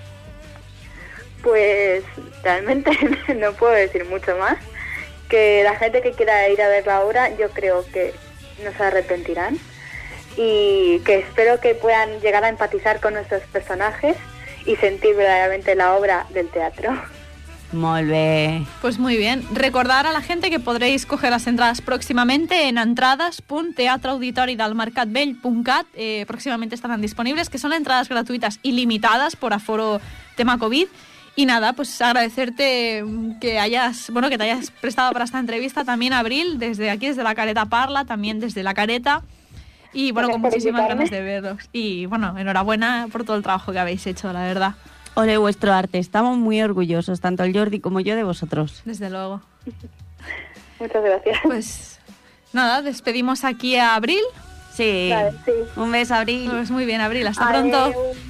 Pues realmente no puedo decir mucho más. Que la gente que quiera ir a ver la obra, yo creo que no se arrepentirán. Y que espero que puedan llegar a empatizar con nuestros personajes y sentir verdaderamente la obra del teatro. Molt bé. Pues muy bien. Recordar a la gente que podréis coger las entradas próximamente en entrades punto teatre auditori del mercat vell punto cat. Eh, próximamente estarán disponibles, que son entradas gratuitas y limitadas por aforo tema COVID. Y nada, pues agradecerte que hayas, bueno, que te hayas prestado para esta entrevista también, Abril, desde aquí, desde la Careta Parla, también desde la Careta. Y bueno, Gracias con por muchísimas invitarme. ganas de veros. Y bueno, enhorabuena por todo el trabajo que habéis hecho, la verdad. Ole vuestro arte. Estamos muy orgullosos, tanto el Jordi como yo, de vosotros. Desde luego. Muchas gracias. Pues nada, despedimos aquí a Abril. Sí. Vale, sí. Un beso, Abril. Pues muy bien, Abril. Hasta Adeu. pronto.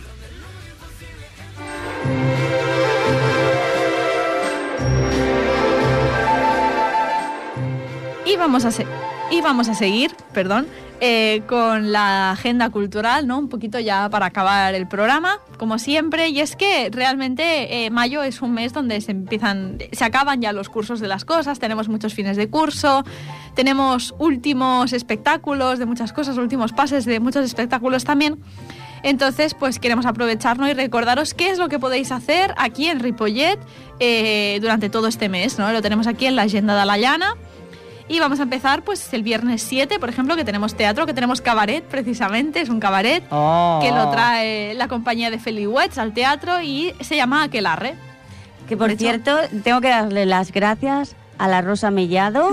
Y vamos a, se- y vamos a seguir, perdón, eh, con la agenda cultural, ¿no? Un poquito ya para acabar el programa, como siempre. Y es que realmente eh, mayo es un mes donde se empiezan, se acaban ya los cursos de las cosas. Tenemos muchos fines de curso, tenemos últimos espectáculos de muchas cosas, últimos pases de muchos espectáculos también. Entonces, pues queremos aprovecharnos y recordaros qué es lo que podéis hacer aquí en Ripollet eh, durante todo este mes, ¿no? Lo tenemos aquí en la agenda de la llana. Y vamos a empezar pues el viernes siete, por ejemplo, que tenemos teatro, que tenemos cabaret, precisamente, es un cabaret Oh. que lo trae la compañía de Feliwets al teatro y se llama Aquelarre. Que por De hecho- cierto, tengo que darle las gracias a la Rosa Mellado,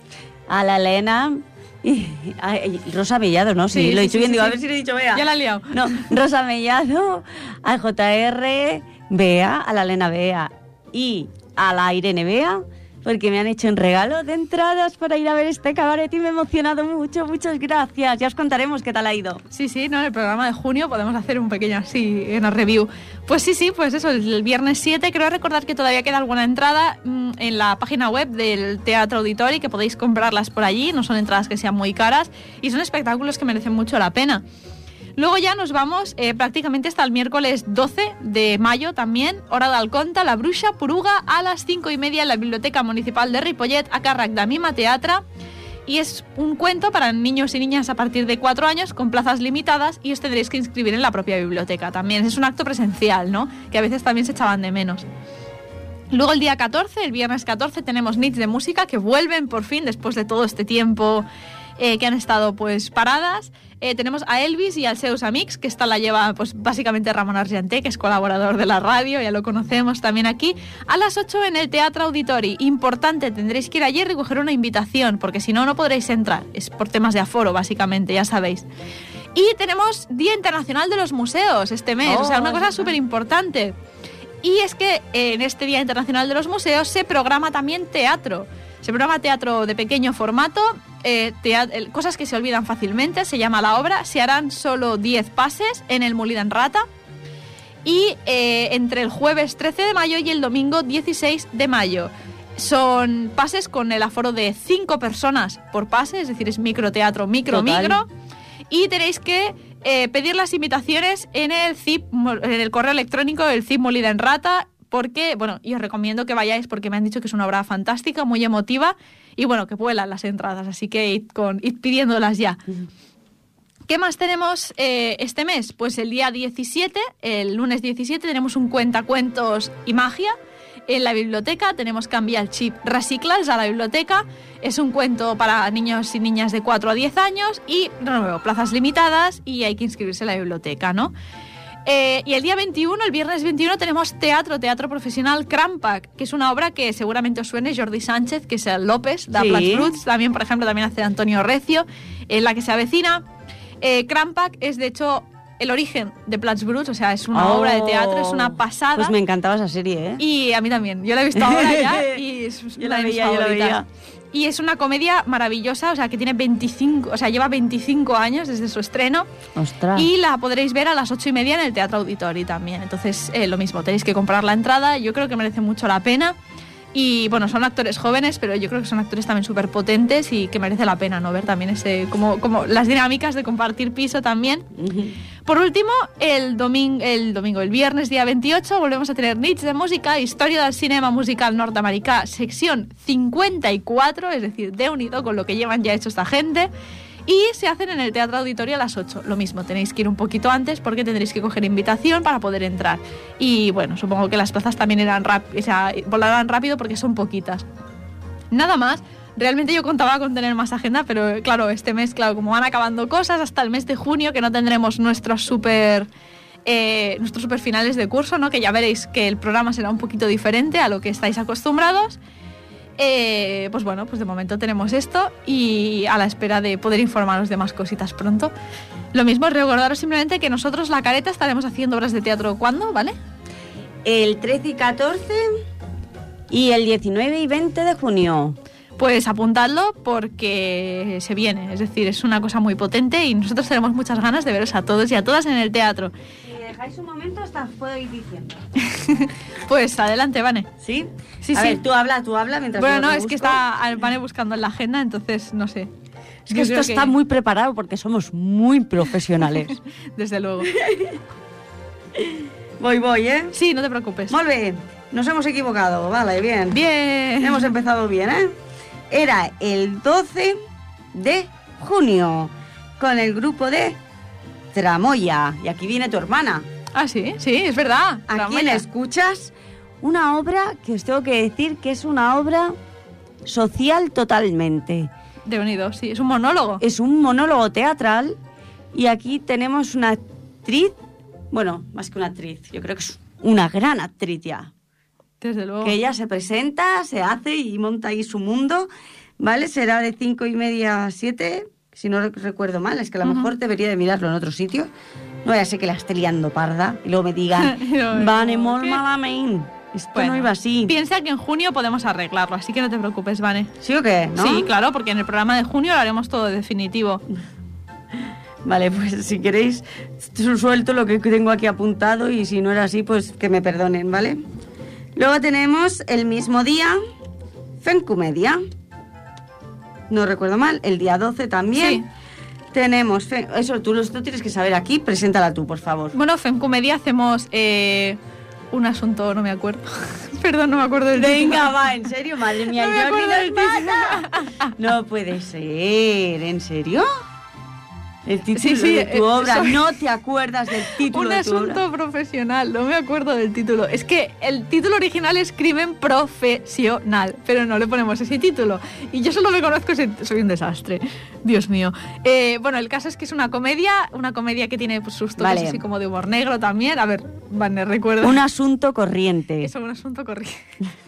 a la Elena y a- y Rosa Mellado, ¿no? Sí, Sí, lo he sí, dicho sí, bien, sí, digo, sí. a ver si lo he dicho, vea. Ya la he liado. No, Rosa Mellado, a J R Bea, a la Elena Bea y a la Irene Bea, porque me han hecho un regalo de entradas para ir a ver este cabaret y me he emocionado mucho. Muchas gracias. Ya os contaremos qué tal ha ido. Sí, sí, ¿no? En el programa de junio podemos hacer un pequeño así, una review. Pues sí, sí, pues eso, el viernes siete, creo recordar que todavía queda alguna entrada mmm, en la página web del Teatro Auditori, que podéis comprarlas por allí, no son entradas que sean muy caras y son espectáculos que merecen mucho la pena. Luego ya nos vamos eh, prácticamente hasta el miércoles doce de mayo también, hora d'Alconta, La Bruixa Poruga, a las cinco y media en la Biblioteca Municipal de Ripollet, a càrrec de Mima Teatra. Y es un cuento para niños y niñas a partir de cuatro años con plazas limitadas y os tendréis que inscribir en la propia biblioteca también. Es un acto presencial, ¿no? Que a veces también se echaban de menos. Luego el día catorce, el viernes catorce, tenemos Nits de Música que vuelven por fin después de todo este tiempo eh, que han estado pues paradas. Eh, tenemos a Elvis y al seus amics, que esta la lleva pues básicamente Ramon Argenté, que es colaborador de la radio, ya lo conocemos también aquí, a las ocho en el Teatro Auditori. Importante, tendréis que ir allí y recoger una invitación, porque si no, no podréis entrar. Es por temas de aforo, básicamente, ya sabéis. Y tenemos Día Internacional de los Museos este mes, Oh, o sea, una es cosa verdad. súper importante. Y es que eh, en este Día Internacional de los Museos se programa también teatro. Se programa teatro de pequeño formato, eh, teat- el- cosas que se olvidan fácilmente, se llama la obra. Se harán solo diez pases en el Molí d'en Rata. Y eh, entre el jueves trece de mayo y el domingo dieciséis de mayo. Son pases con el aforo de cinco personas por pase, es decir, es microteatro, micro, Total. micro. Y tenéis que Eh, pedir las invitaciones en el C I P, en el correo electrónico del C I P Molida en Rata, porque, bueno, y os recomiendo que vayáis porque me han dicho que es una obra fantástica, muy emotiva, y bueno, que vuelan las entradas, así que id, con, id pidiéndolas ya. Uh-huh. ¿Qué más tenemos eh, este mes? Pues el día diecisiete, el lunes diecisiete, tenemos un cuentacuentos y magia en la biblioteca. Tenemos Canvia el Chip Reciclas a la biblioteca. Es un cuento para niños y niñas de cuatro a diez años y, de nuevo, plazas limitadas y hay que inscribirse en la biblioteca, ¿no? Eh, y el día veintiuno, el viernes veintiuno, tenemos teatro, teatro profesional Crampac, que es una obra que seguramente os suene, Jordi Sánchez, que es el López, de sí. Plats Bruts. También, por ejemplo, también hace Antonio Recio, en la que se avecina. Eh, Crampac es, de hecho, el origen de Plats Bruts, o sea, es una oh, obra de teatro, es una pasada. Pues me encantaba esa serie, ¿eh? Y a mí también. Yo la he visto ahora ya y es yo una la de mis veía, favoritas. Yo la veía. Y es una comedia maravillosa, o sea, que tiene veinticinco, o sea, lleva veinticinco años desde su estreno. ¡Ostras! Y la podréis ver a las ocho y media en el Teatro Auditori también. Entonces, eh, lo mismo, tenéis que comprar la entrada. Yo creo que merece mucho la pena. Y bueno, son actores jóvenes, pero yo creo que son actores también súper potentes y que merece la pena, ¿no? Ver también ese, como, como las dinámicas de compartir piso también. Uh-huh. Por último, el domingo, el domingo, el viernes día veintiocho, volvemos a tener Nits de Música, Historia del Cinema Musical Norteamericà, sección cincuenta y cuatro, es decir, de unido con lo que llevan ya hecho esta gente. Y se hacen en el Teatro Auditorio a las ocho. Lo mismo, tenéis que ir un poquito antes porque tendréis que coger invitación para poder entrar. Y bueno, supongo que las plazas también irán rápido, o sea, volarán rápido porque son poquitas. Nada más. Realmente yo contaba con tener más agenda, pero claro, este mes, claro, como van acabando cosas, hasta el mes de junio, que no tendremos nuestros super, eh, nuestros super finales de curso, ¿no? Que ya veréis que el programa será un poquito diferente a lo que estáis acostumbrados. Eh, pues bueno, pues de momento tenemos esto y a la espera de poder informaros de más cositas pronto. Lo mismo, recordaros simplemente que nosotros, La Careta, estaremos haciendo obras de teatro ¿cuándo? ¿Vale? El trece y catorce y el diecinueve y veinte de junio. Pues apuntadlo porque se viene, es decir, es una cosa muy potente y nosotros tenemos muchas ganas de veros a todos y a todas en el teatro. Si me dejáis un momento, hasta puedo ir diciendo. Pues adelante, Vane. ¿Sí? Sí, a sí. ver, tú habla, tú habla mientras Bueno, yo no, lo es busco. que está Vane buscando en la agenda, entonces no sé. Es que esto está que... muy preparado porque somos muy profesionales. Desde luego. Voy, voy, ¿eh? Sí, no te preocupes. Muy bien, nos hemos equivocado, vale, bien. Bien. Hemos empezado bien, ¿eh? Era el doce de junio con el grupo de Tramoya. Y aquí viene tu hermana. Ah, sí, sí, es verdad. ¿A Tramoya. quién escuchas? Una obra que os tengo que decir que es una obra social totalmente. De unido, sí, es un monólogo. Es un monólogo teatral y aquí tenemos una actriz, bueno, más que una actriz, yo creo que es una gran actriz ya. Desde luego. Que ella se presenta, se hace y monta ahí su mundo, ¿vale? Será de cinco y media a siete, si no recuerdo mal, es que a lo uh-huh. mejor debería de mirarlo en otro sitio. No vaya a ser que la esté liando parda y luego me digan, Vane, molt malament. Esto bueno, no iba así. Piensa que en junio podemos arreglarlo, así que no te preocupes, Vane. ¿Sí o qué? ¿No? Sí, claro, porque en el programa de junio lo haremos todo definitivo. Vale, pues si queréis, suelto lo que tengo aquí apuntado y si no era así, pues que me perdonen, ¿vale? Luego tenemos el mismo día, Fencomedia. No recuerdo mal, el día doce también. Sí. Tenemos, eso tú lo tienes que saber aquí, preséntala tú, por favor. Bueno, Fencomedia hacemos eh, un asunto, no me acuerdo. Perdón, no me acuerdo del título. Venga, va, en serio, madre mía. No me acuerdo del título. No puede ser, ¿en serio? El título sí, sí, de tu eh, obra, soy... no te acuerdas del título Un de tu obra. asunto profesional, no me acuerdo del título. Es que el título original es Crimen Profesional, pero no le ponemos ese título. Y yo solo me conozco, soy un desastre. Dios mío. Eh, bueno, el caso es que es una comedia, una comedia que tiene pues, sus toques vale. así como de humor negro también. A ver, Vane, recuerda. Un asunto corriente. Eso, un asunto corriente.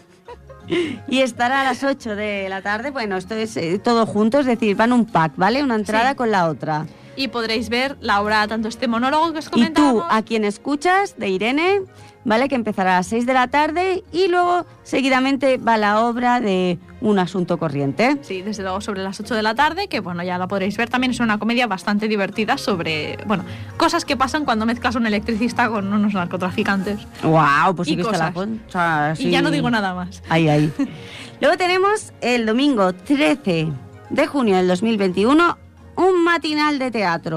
Y estará a las ocho de la tarde. Bueno, esto es eh, todo junto, es decir, van un pack, ¿vale? Una entrada sí. con la otra. Y podréis ver la obra, tanto este monólogo que os comentábamos. Y tú, a quien escuchas, de Irene, ¿vale? Que empezará a las seis de la tarde y luego seguidamente va la obra de Un asunto corriente. Sí, desde luego sobre las ocho de la tarde, que bueno, ya la podréis ver. También es una comedia bastante divertida sobre, bueno, cosas que pasan cuando mezclas un electricista con unos narcotraficantes. ¡Guau! Pues sí que cosas. está la o sea, sí. Y ya no digo nada más. Ahí, ahí. Luego tenemos el domingo trece de junio del dos mil veintiuno un matinal de teatro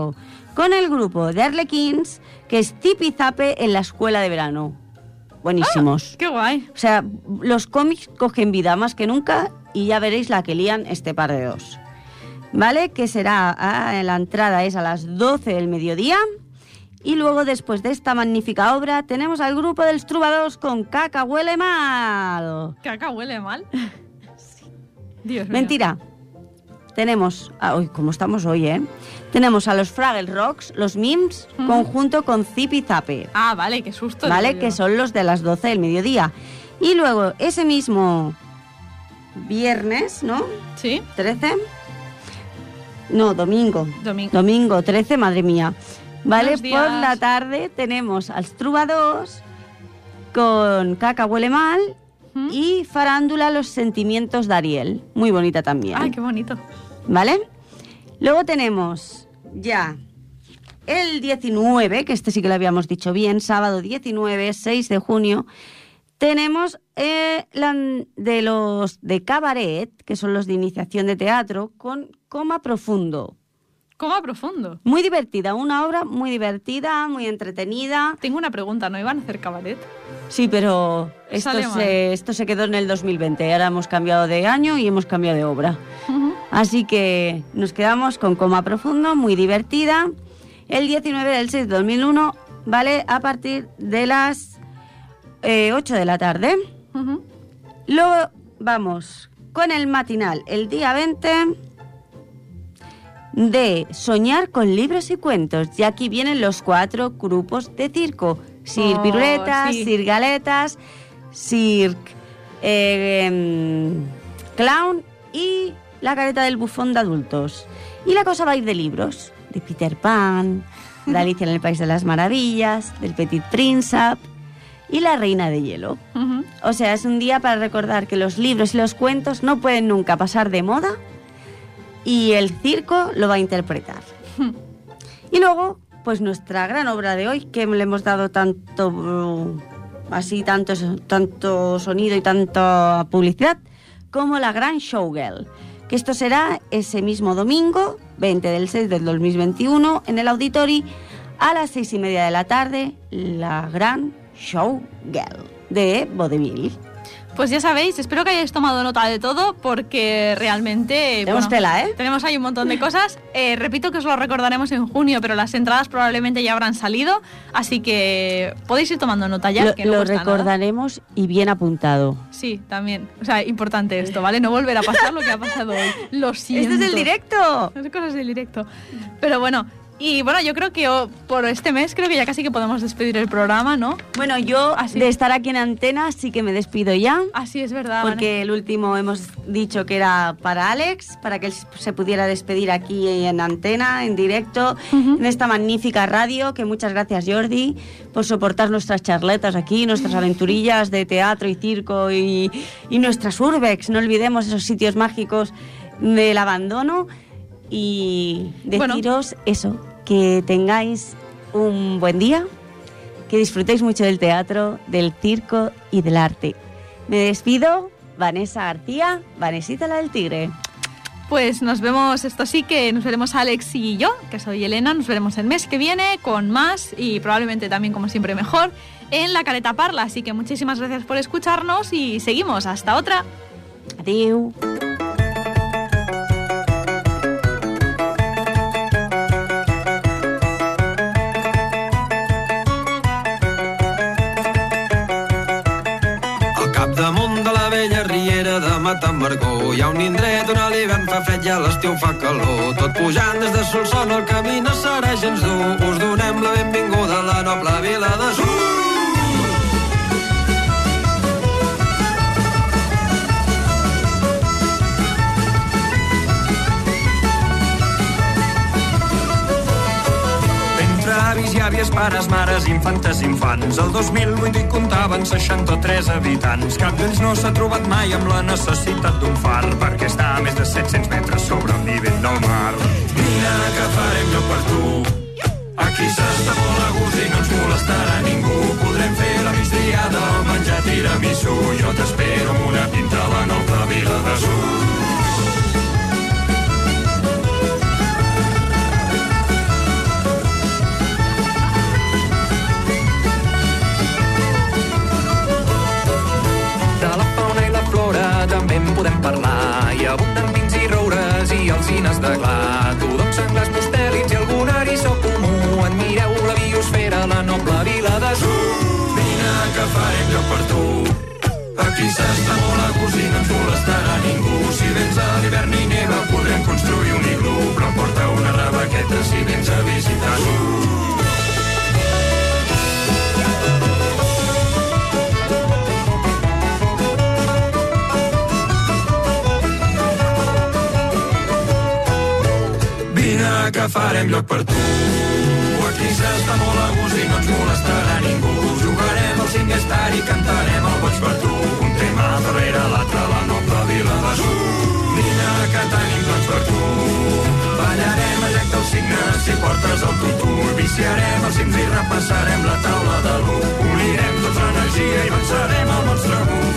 con el grupo de Arlequins, que es Zipi Zape en la escuela de verano. Buenísimos. Ah, ¡qué guay! O sea, los cómics cogen vida más que nunca y ya veréis la que lían este par de dos. ¿Vale? Que será, ah, la entrada es a las doce del mediodía. Y luego, después de esta magnífica obra, tenemos al grupo de los Trubadors con Caca Huele Mal. ¿Caca huele mal? Sí. Dios mío. Mentira. Tenemos, ah, uy, ¿cómo estamos hoy, eh? Tenemos a los Fraggle Rocks, los Mims, uh-huh. conjunto con Zipi Zape. Ah, vale, qué susto. Vale, que son los de las doce del mediodía. Y luego, ese mismo viernes, ¿no? Sí. trece. No, domingo. Domingo. Domingo trece, madre mía. Vale, Buenos días. por la tarde tenemos al Trubadors con Caca Huele Mal ¿Mm? y Farándula Los Sentimientos de Ariel. Muy bonita también. Ay, qué bonito. ¿Vale? Luego tenemos ya el diecinueve, que este sí que lo habíamos dicho bien, sábado diecinueve, seis de junio, tenemos eh, la, de los de Cabaret, que son los de iniciación de teatro, con Coma Profundo. Coma Profundo. Muy divertida, una obra muy divertida, muy entretenida. Tengo una pregunta, ¿no iban a hacer cabaret? Sí, pero esto se, esto se quedó en el dos mil veinte. Ahora hemos cambiado de año y hemos cambiado de obra. Uh-huh. Así que nos quedamos con Coma Profundo, muy divertida. El diecinueve del seis de dos mil uno, ¿vale? A partir de las eh, ocho de la tarde. Uh-huh. Luego vamos con el matinal, el día veinte... de Soñar con libros y cuentos. Y aquí vienen los cuatro grupos de circo. Sir oh, Piruletas, sí. Sir Galetas, Sir eh, eh, Clown y La Careta del Bufón de adultos. Y la cosa va a ir de libros. De Peter Pan, de Alicia en el País de las Maravillas, del Petit Príncipe y La Reina de Hielo. Uh-huh. O sea, es un día para recordar que los libros y los cuentos no pueden nunca pasar de moda. Y el circo lo va a interpretar. Y luego, pues nuestra gran obra de hoy, que le hemos dado tanto, uh, así, tanto, tanto sonido y tanta publicidad, como la Gran Showgirl. Que esto será ese mismo domingo, veinte del seis del dos mil veintiuno, en el Auditori, a las seis y media de la tarde, la Gran Showgirl de Vodevil. Pues ya sabéis, espero que hayáis tomado nota de todo porque realmente... Tenemos bueno, tela, ¿eh? Tenemos ahí un montón de cosas. Eh, repito que os lo recordaremos en junio, pero las entradas probablemente ya habrán salido, así que podéis ir tomando nota ya. Lo, que no lo cuesta recordaremos nada. Y bien apuntado. Sí, también. O sea, importante esto, ¿vale? No volver a pasar lo que ha pasado hoy. Lo siento. ¡Este es el directo! Es cosas del directo. Pero bueno... Y bueno, yo creo que oh, por este mes creo que ya casi que podemos despedir el programa, ¿no? Bueno, yo Así. de estar aquí en antena sí que me despido ya. Así es verdad. Porque ¿vale? el último hemos dicho que era para Alex, para que él se pudiera despedir aquí en antena, en directo, uh-huh. en esta magnífica radio. Que muchas gracias, Jordi, por soportar nuestras charletas aquí, nuestras aventurillas de teatro y circo y, y nuestras urbex. No olvidemos esos sitios mágicos del abandono. Y deciros bueno. eso, que tengáis un buen día, que disfrutéis mucho del teatro, del circo y del arte. Me despido, Vanessa García, Vanesita la del Tigre. Pues nos vemos, esto sí que nos veremos Alex y yo, que soy Elena, nos veremos el mes que viene con más y probablemente también, como siempre, mejor, en La Careta Parla. Así que muchísimas gracias por escucharnos y seguimos. Hasta otra. Adiós. Matambergó. Hi ha un indret on a l'hivern fa fred i a l'estiu fa calor. Tot pujant des de Solsona el camí no serà gens dur. Us donem la benvinguda a la noble vila de Sur. Avis i àvies, pares, mares, infantes, infants. El dos mil vuit hi comptaven seixanta-tres habitants. Cap d'ells no s'ha trobat mai amb la necessitat d'un far, perquè està a més de set-cents metres sobre el nivell del mar. Vine, que farem lloc per tu. Aquí s'està molt a gust i no ens molestarà ningú. Podrem fer la migdiada, menjar tiramisú. Jo t'espero amb una pinta a la noble vila de Sur. convidaràs. Vine que farem lloc per tu. Aquí s'està molt a gust i no ens molestarà ningú. Si vens a l'hivern i neva podrem construir un iglú, però porta una rebequeta si vens a visitar-nos. Vine que farem lloc per tu. Aquí s'està molt a gust i no ens molestarà ningú. Jugarem al cinc-star i cantarem el Boig per tu. Un tema darrere l'altre, la noble vila de Su. Vine que tenim plans per tu. Ballarem al llac del Cigne si portes el tutu. Viciarem els cims i repassarem la taula de l'u. Unirem tota l'energia i vencerem el monstre Bu.